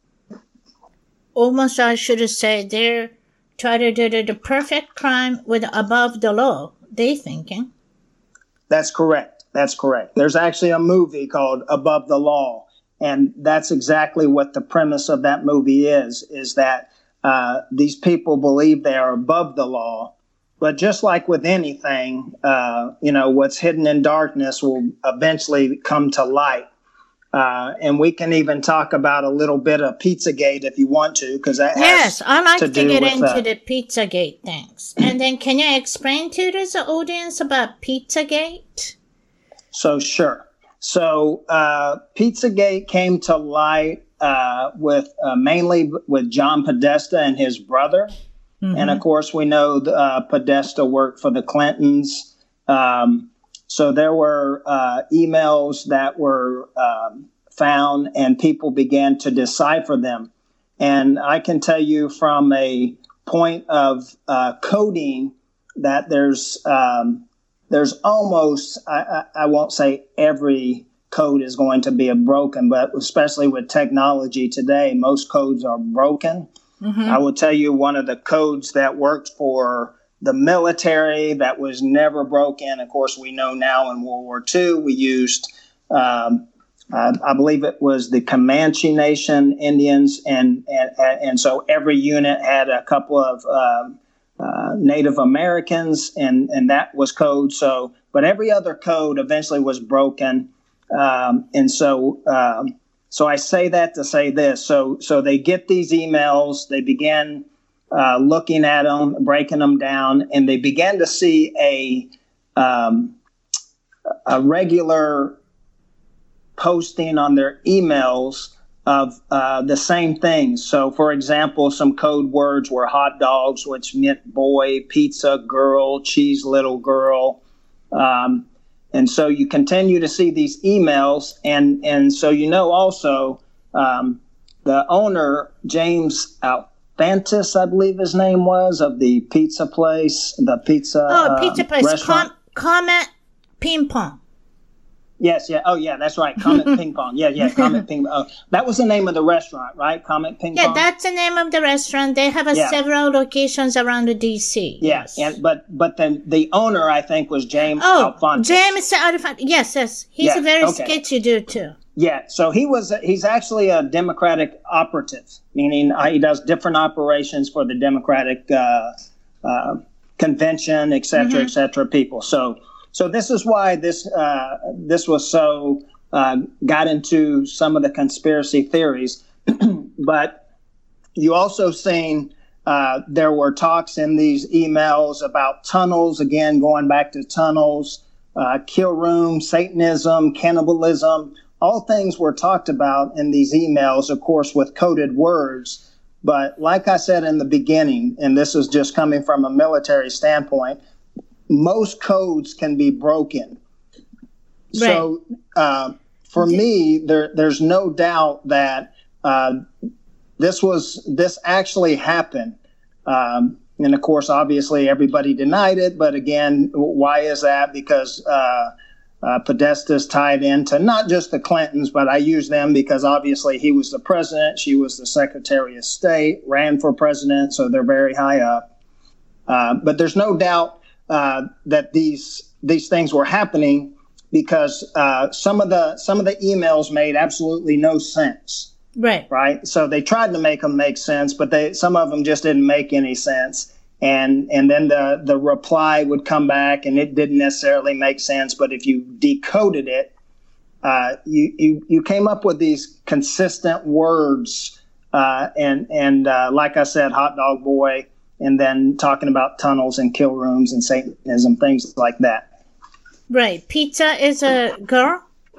Almost, I should say, they're trying to do the, the perfect crime with above the law. They thinking. That's correct. That's correct. There's actually a movie called Above the Law, and that's exactly what the premise of that movie is, is that uh, these people believe they are above the law. But just like with anything, uh, you know, what's hidden in darkness will eventually come to light. Uh, and we can even talk about a little bit of Pizzagate if you want to, because that Yes, has I like to to, do get with into uh, the Pizzagate things. And then can you explain to this audience about Pizzagate? So sure. So uh, Pizzagate came to light uh, with uh, mainly with John Podesta and his brother, Mm-hmm. and of course we know uh, Podesta worked for the Clintons. Um, so there were uh, emails that were um, found, and people began to decipher them. And I can tell you from a point of uh, coding that there's um, there's almost, I, I, I won't say every code is going to be a broken, but especially with technology today, most codes are broken. Mm-hmm. I will tell you one of the codes that worked for the military that was never broken. Of course, we know now in World War Two, we used, um, uh, I believe it was the Comanche Nation Indians. And, and, and so every unit had a couple of um, uh, Native Americans, and, and that was code. So, but every other code eventually was broken. Um, and so, um, so I say that to say this. So, so they get these emails, they begin uh, looking at them, breaking them down, and they began to see a um, a regular posting on their emails of uh, the same things. So, for example, some code words were hot dogs, which meant boy, pizza, girl, cheese, little girl. Um, and so you continue to see these emails. And, and so, you know, also um, the owner, James Alfantis, I believe his name was, of the pizza place, the pizza Oh, uh, pizza place. restaurant. Com- comment ping pong. Yes, yeah. Oh, yeah, that's right. Comet Ping Pong. Yeah, yeah, Comet Ping Pong. Oh, that was the name of the restaurant, right? Comet Ping Yeah, Pong? that's the name of the restaurant. They have a Yeah. several locations around the D C. Yeah, Yes. and but but then the owner, I think, was James Oh, Alphonsus. James Alphonsus. Yes, yes. He's Yeah, a very okay. sketchy dude, too. Yeah, so he was he's actually a Democratic operative, meaning uh, he does different operations for the Democratic uh, uh, convention, et cetera, Mm-hmm. et cetera, people. So so this is why this uh, this was so uh, got into some of the conspiracy theories. But you also seen uh, there were talks in these emails about tunnels, again, going back to tunnels, uh, kill room, Satanism, cannibalism. All things were talked about in these emails, of course, with coded words. But like I said in the beginning, and this is just coming from a military standpoint, most codes can be broken. So uh, for me, there, there's no doubt that uh, this was this actually happened. Um, and of course, obviously, everybody denied it. But again, why is that? Because uh, Uh, Podesta is tied into not just the Clintons, but I use them because obviously he was the president, she was the Secretary of State, ran for president, so they're very high up. Uh, but there's no doubt uh, that these these things were happening because uh, some of the some of the emails made absolutely no sense. Right. Right. So they tried to make them make sense, but they some of them just didn't make any sense. And and then the, the reply would come back, and it didn't necessarily make sense. But if you decoded it, uh, you, you you came up with these consistent words. Uh, and and uh, like I said, hot dog boy, and then talking about tunnels and kill rooms and Satanism, things like that. Right. Pizza is a girl?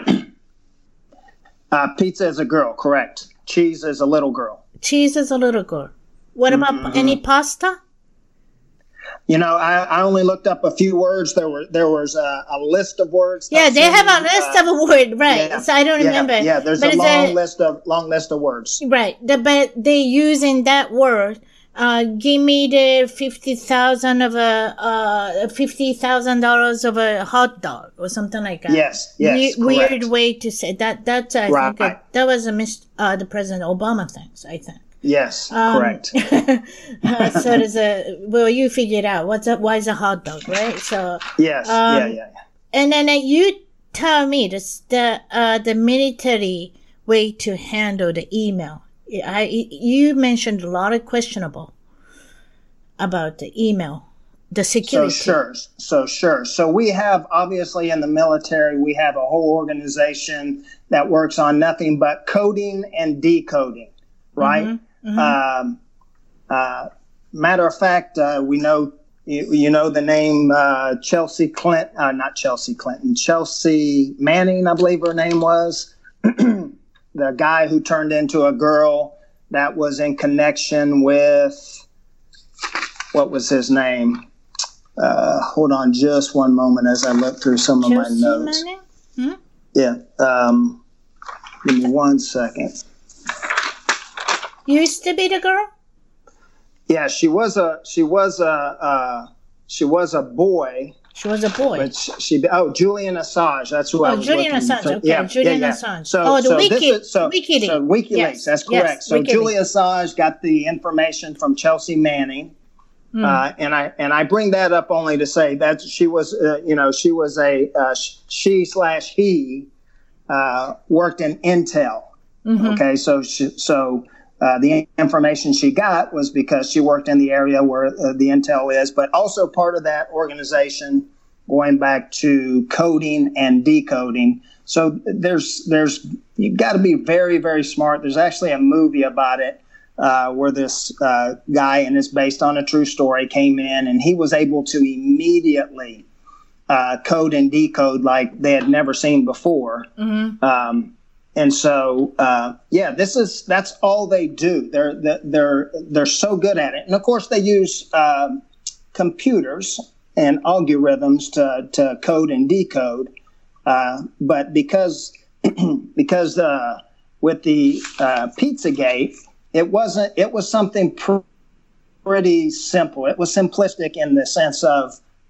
Uh, pizza is a girl, correct. Cheese is a little girl. Cheese is a little girl. What about Mm-hmm. any pasta? You know, I, I only looked up a few words. There were there was a, a list of words. Yeah, they have a Uh, list of a word, right? yeah, So I don't yeah, remember. Yeah, there's But a it's long list of long list of words. Right. The, but they using that word. Uh, give me the fifty thousand of a uh fifty thousand dollars of a hot dog or something like that. Yes, yes, We- weird correct. way to say that. That's I Right. think it, that was a mis- uh, the President Obama things. I think. Yes, Um, correct. uh, so there's a well, you figured out what's up. Why is a hot dog, right? So Yes, um, yeah, yeah, yeah. and then uh, you tell me this the uh the military way to handle the email. I you mentioned a lot of questionable about the email, the So security. sure, so sure. So we have obviously in the military, we have a whole organization that works on nothing but coding and decoding, right? Mm-hmm, mm-hmm. Um, uh, matter of fact, uh, we know you, you know the name uh, Chelsea Clinton, uh, not Chelsea Clinton, Chelsea Manning, I believe her name was, the guy who turned into a girl that was in connection with. What was his name? Uh, hold on just one moment as I look through some of Chelsea my notes. Manning? Hmm? Yeah. Um, give me one second. Used to be the girl. Yeah, she was a she was a uh, she was a boy, She was a boy. but she, she oh Julian Assange. That's who I Oh, was Julian looking- Assange. so- Okay, yeah, Julian yeah, yeah. Assange. So, Oh, the so Wiki- this is, so, WikiLeaks. So WikiLeaks. Yes, That's yes, correct. so WikiLeaks. Julian Assange got the information from Chelsea Manning. Hmm. Uh, and I and I bring that up only to say that she was, uh, you know, she was a uh, she slash he uh, worked in Intel. Mhm. Okay, so she, so uh, the information she got was because she worked in the area where uh, the Intel is, but also part of that organization going back to coding and decoding. So there's there's you've got to be very very smart. There's actually a movie about it. Uh, where this uh, guy, and it's based on a true story, came in and he was able to immediately uh, code and decode like they had never seen before. Mhm. Um, and so, uh, yeah, this is that's all they do. They're they're they're so good at it, and of course they use um, computers and algorithms to to code and decode. Uh, but because because uh, with the uh, Pizzagate. It wasn't. It was something pr- pretty simple. It was simplistic in the sense of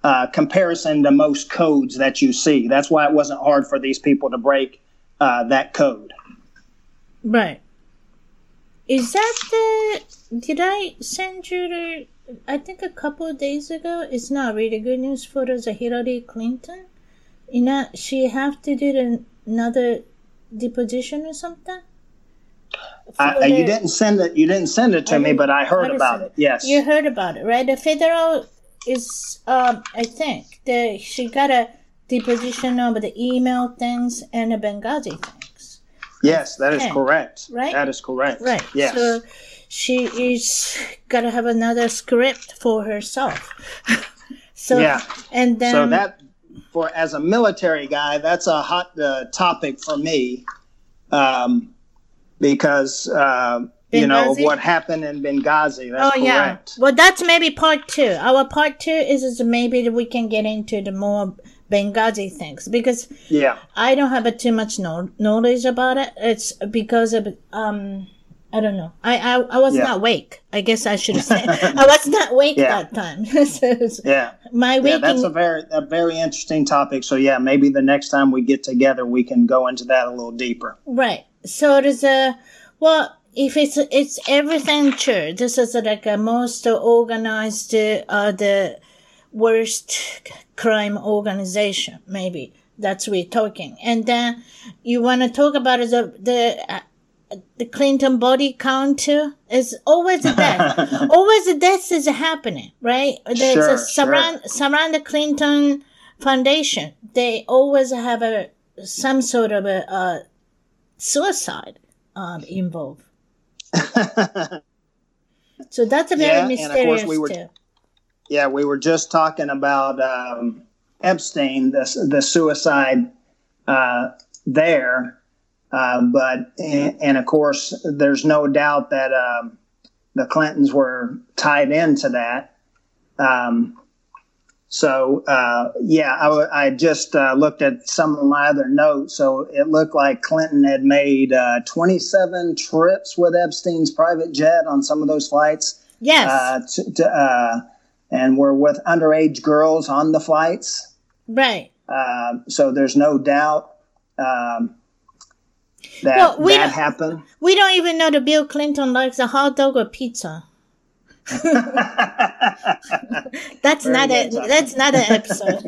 uh, comparison to most codes that you see. That's why it wasn't hard for these people to break uh, that code. Right. Is that the, did I send you the, I think a couple of days ago, it's not really good news for the Hillary Clinton. You know, she have to do the, another deposition or something? I, the, you didn't send it. You didn't send it to me, but I heard about it. Yes, you heard about it, right? The federal is, um, I think, the she got a deposition over the email things and the Benghazi things. Yes, that is think, correct. Right, that is correct. Right. Yes. So she is gotta have another script for herself. so yeah, and then so that for as a military guy, that's a hot uh, topic for me. Um, Because, uh, you know, of what happened in Benghazi. That's oh, correct. Yeah. Well, that's maybe part two. Our part two is, is maybe that we can get into the more Benghazi things. Because yeah. I don't have a, too much no, knowledge about it. It's because of, um, I don't know. I, I, I was yeah. not awake. I guess I should have said. I was not awake yeah. that time. so yeah. My waking... Yeah, that's a very, a very interesting topic. So, yeah, maybe the next time we get together, we can go into that a little deeper. Right. So there's a, well, if it's, it's everything true, this is like a most organized, uh, the worst crime organization, maybe that's what we're talking. And then you want to talk about the, the, uh, the Clinton body count too. It's always a death. always a death is happening, right? There's sure, a surround, sure. surround the Clinton Foundation. They always have a, some sort of a, uh, suicide um, involved. So that's a very yeah, mysterious and of course we were, too. Yeah, we were just talking about um, Epstein, the, the suicide uh, there. Uh, but, and, and of course, there's no doubt that um, the Clintons were tied into that. Um So, uh, yeah, I, I just uh, looked at some of my other notes. So it looked like Clinton had made uh, twenty-seven trips with Epstein's private jet on some of those flights. Yes. Uh, to, to, uh, and were with underage girls on the flights. Right. Uh, so there's no doubt um, that well, we that happened. We don't even know that Bill Clinton likes a hot dog or pizza. that's Very not a good, that's not an episode.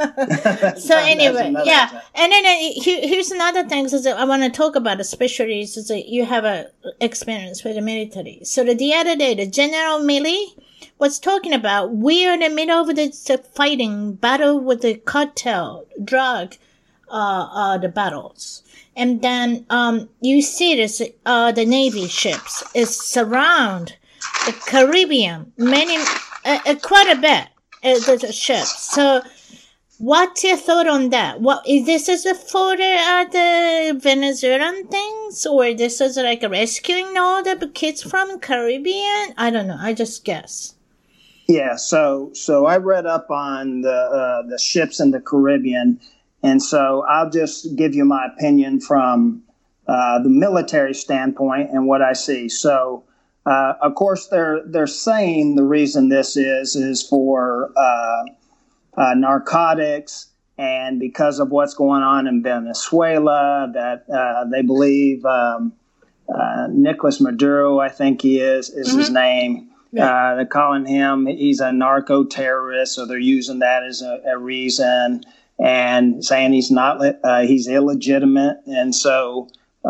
so anyway, yeah, episode. And then uh, here, here's another thing is that I want to talk about, especially is that you have a experience with the military. So the, the other day, the General Milley was talking about we're in the middle of the, the fighting battle with the cartel drug, uh, uh, the battles. And then um, you see this, uh, the Navy ships is surround the Caribbean, many, uh, uh, quite a bit, uh, the ships. So, what's your thought on that? What is this is a for the, uh, the Venezuelan things, or this is like rescuing all the kids from Caribbean? I don't know. I just guess. Yeah. So, so I read up on the uh, the ships in the Caribbean, and so I'll just give you my opinion from uh, the military standpoint and what I see. So. Uh, of course, they're they're saying the reason this is is for uh, uh, narcotics, and because of what's going on in Venezuela, that uh, they believe um, uh, Nicolas Maduro, I think he is, is mm-hmm. his name. Yeah. Uh, they're calling him he's a narco terrorist, so they're using that as a, a reason and saying he's not uh, he's illegitimate, and so.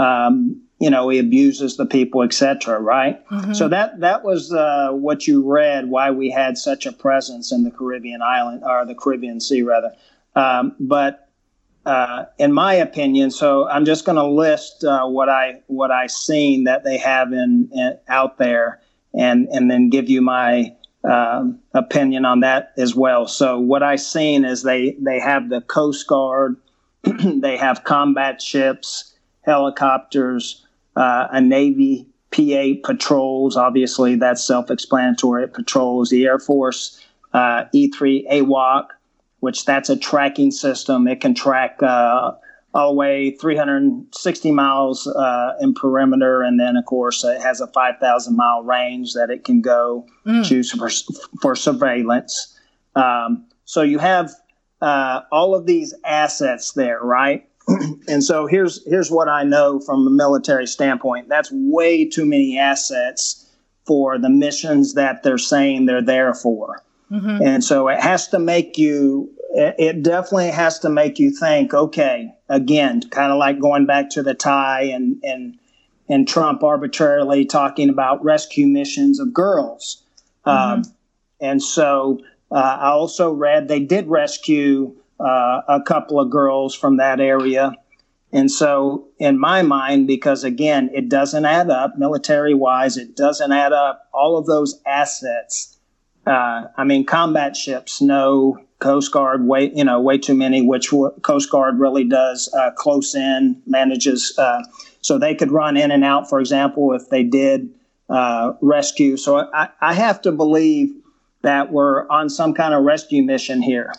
Um, You know, he abuses the people, et cetera, right? Mm-hmm. So that that was uh, what you read, why we had such a presence in the Caribbean island, or the Caribbean Sea, rather. Um, but uh, in my opinion, so I'm just going to list uh, what I what I seen that they have in, in out there, and and then give you my um, opinion on that as well. So what I seen is they they have the Coast Guard, they have combat ships, helicopters. Uh, a Navy P eight patrols, obviously that's self-explanatory. It patrols the Air Force uh, E three A W O C, which that's a tracking system. It can track uh, all the way three hundred sixty miles uh, in perimeter, and then of course it has a five thousand mile range that it can go mm. to for, for surveillance. Um, so you have uh, all of these assets there, right? And so here's here's what I know from a military standpoint. That's way too many assets for the missions that they're saying they're there for. Mm-hmm. And so it has to make you, it definitely has to make you think, okay, again, kind of like going back to the Thai and, and, and Trump arbitrarily talking about rescue missions of girls. Mm-hmm. Um, and so uh, I also read they did rescue uh, a couple of girls from that area. And so in my mind, because again, it doesn't add up military wise, it doesn't add up all of those assets. Uh, I mean, combat ships, no. Coast Guard, way, you know, way too many, which w- Coast Guard really does uh, close in, manages. Uh, so they could run in and out, for example, if they did uh, rescue. So I, I have to believe that we're on some kind of rescue mission here.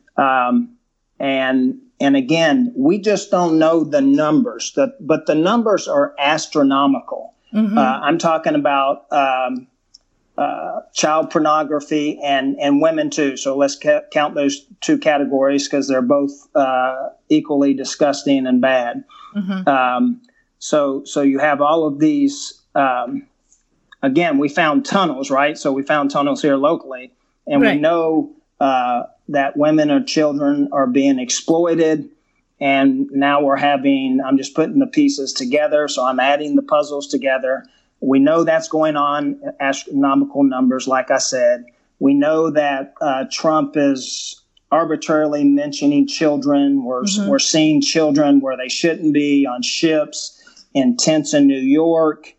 Um, and and again, we just don't know the numbers, the, but the numbers are astronomical. Mm-hmm. Uh, I'm talking about um, uh, child pornography and, and women too. So let's ca- count those two categories because they're both uh, equally disgusting and bad. Mm-hmm. Um, so so you have all of these. Um, again, we found tunnels, right? So we found tunnels here locally, and right. we know uh, that women or children are being exploited. And now we're having, I'm just putting the pieces together. So I'm adding the puzzles together. We know that's going on, astronomical numbers, like I said. We know that uh, Trump is arbitrarily mentioning children. We're, mm-hmm. we're seeing children where they shouldn't be on ships, in tents in New York.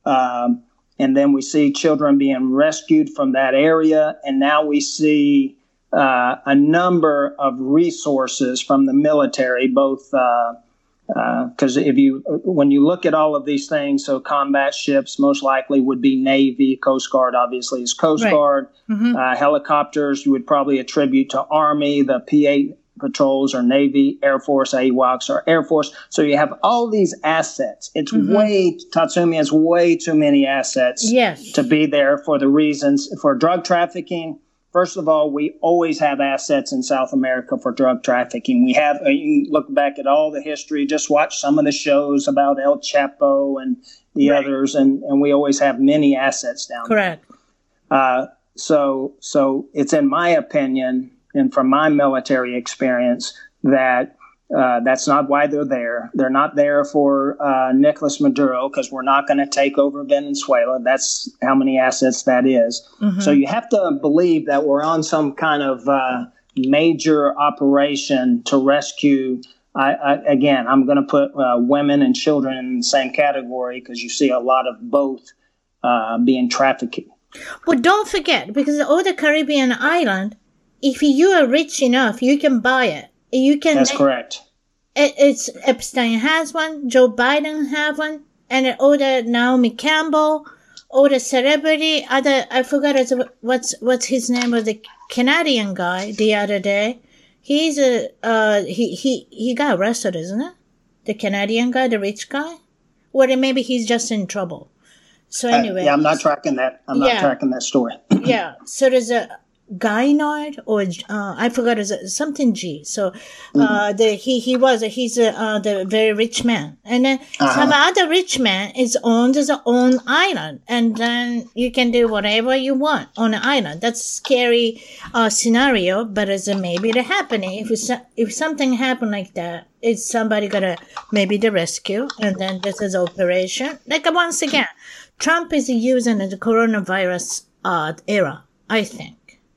Um, and then we see children being rescued from that area. And now we see uh, a number of resources from the military, both uh, because uh, if you, when you look at all of these things, so combat ships most likely would be Navy, Coast Guard obviously is Coast right. Guard, mm-hmm. uh, helicopters you would probably attribute to Army, the P eight patrols are Navy, Air Force, A W A C S are Air Force. So you have all these assets. It's mm-hmm. way, Tatsumi, it's way too many assets yes. to be there for the reasons, for drug trafficking. First of all, we always have assets in South America for drug trafficking. We have, uh, you can look back at all the history, just watch some of the shows about El Chapo and the right. others, and, and we always have many assets down Correct. there. Correct. Uh, so, so it's in my opinion, and from my military experience, that uh, that's not why they're there. They're not there for uh, Nicolas Maduro because we're not going to take over Venezuela. That's how many assets that is. Mm-hmm. So you have to believe that we're on some kind of uh, major operation to rescue. I, I, again, I'm going to put uh, women and children in the same category because you see a lot of both uh, being trafficked. But don't forget, because all the Caribbean island, if you are rich enough, you can buy it. You can. That's correct. It, it's Epstein has one. Joe Biden have one, and all the Naomi Campbell, all the celebrity. Other I forgot what's what's his name of the Canadian guy the other day. He's a uh he he he got arrested, isn't it? The Canadian guy, the rich guy. Or maybe he's just in trouble. So anyway, uh, yeah, I'm not tracking that. I'm not yeah, tracking that story. yeah. So there's a. Guynard or uh, I forgot is something G. So uh, the he he was he's a uh, the very rich man, and then uh-huh. some other rich man is owned his own island, and then you can do whatever you want on the island. That's a scary uh, scenario, but it's uh, maybe it happening. If it's, if something happened like that, is somebody gonna maybe the rescue, and then this is operation. Like uh, once again, Trump is using the coronavirus uh, era, I think.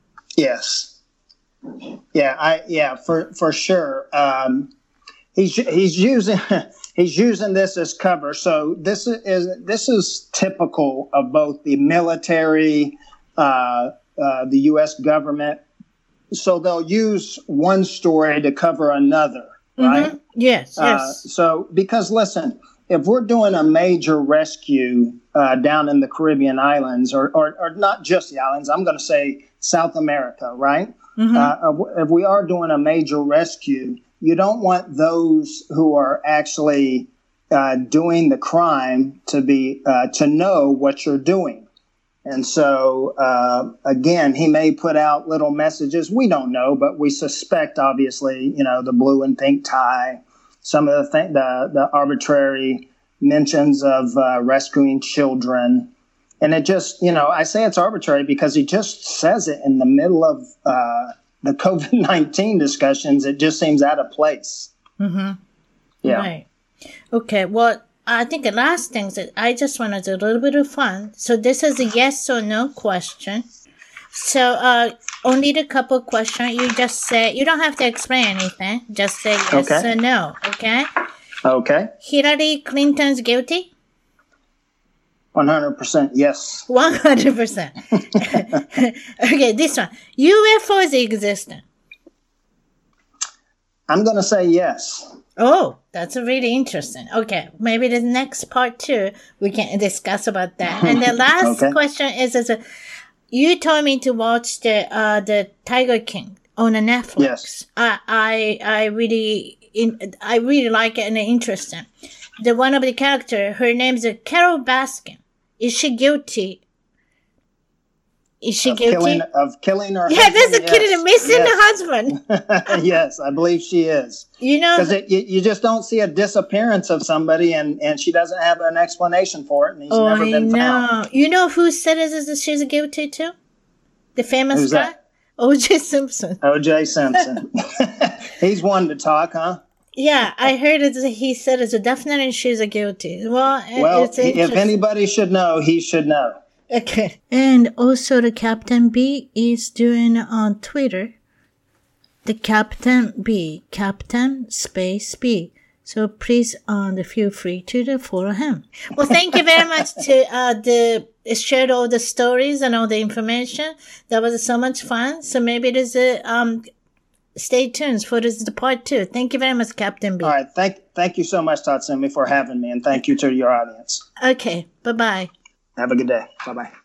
Yes. Yeah, I yeah, for for sure. Um, he's he's using he's using this as cover. So this is this is typical of both the military, uh, uh, the U S government. So they'll use one story to cover another, right? Mm-hmm. Yes. Uh, yes. So because listen, if we're doing a major rescue uh, down in the Caribbean islands, or, or or not just the islands, I'm going to say South America, right? Mm-hmm. Uh, if we are doing a major rescue, you don't want those who are actually uh, doing the crime to be uh, to know what you're doing. And so, uh, again, he may put out little messages. We don't know, but we suspect, obviously, you know, the blue and pink tie, some of the th- the, the arbitrary mentions of uh, rescuing children. And it just, you know, I say it's arbitrary because he just says it in the middle of uh, the COVID nineteen discussions. It just seems out of place. Mm-hmm. Yeah. Right. Okay. Well, I think the last thing is that I just want to do a little bit of fun. So this is a yes or no question. So uh, only the couple questions. You just say, you don't have to explain anything. Just say yes Okay. or no. Okay? Okay. Hillary Clinton's guilty? one hundred percent yes. one hundred percent. Okay, this one. U F Os existent. I'm going to say yes. Oh, that's really interesting. Okay, maybe the next part two, we can discuss about that. And the last Okay. question is, is uh, you told me to watch the uh, the Tiger King on a Netflix. Yes. I I I really in, I really like it and interesting. The one of the character, her name is Carol Baskin. Is she guilty? Is she Of guilty? killing, of killing her Yeah, husband? that's the Yes. kid and missing Yes. the husband. Yes, I believe she is. You know, Because you, you just don't see a disappearance of somebody and, and she doesn't have an explanation for it and he's oh, never I been know. found. You know who said it is that she's guilty too? The famous Who's guy? that? O J Simpson. O J Simpson. He's one to talk, huh? Yeah, I heard it. He said it's a definitely she's a guilty. Well, Well, it's if interesting. anybody should know, he should know. Okay. And also the Captain B is doing on Twitter. The Captain B, Captain Space B. So please um, feel free to follow him. Well, thank you very much to uh, the shared all the stories and all the information. That was so much fun. So maybe there's a um, stay tuned for this the part two. Thank you very much, Captain B. All right. Thank, thank you so much, Tatsumi, for having me. And thank you to your audience. Okay. Bye bye. Have a good day. Bye-bye.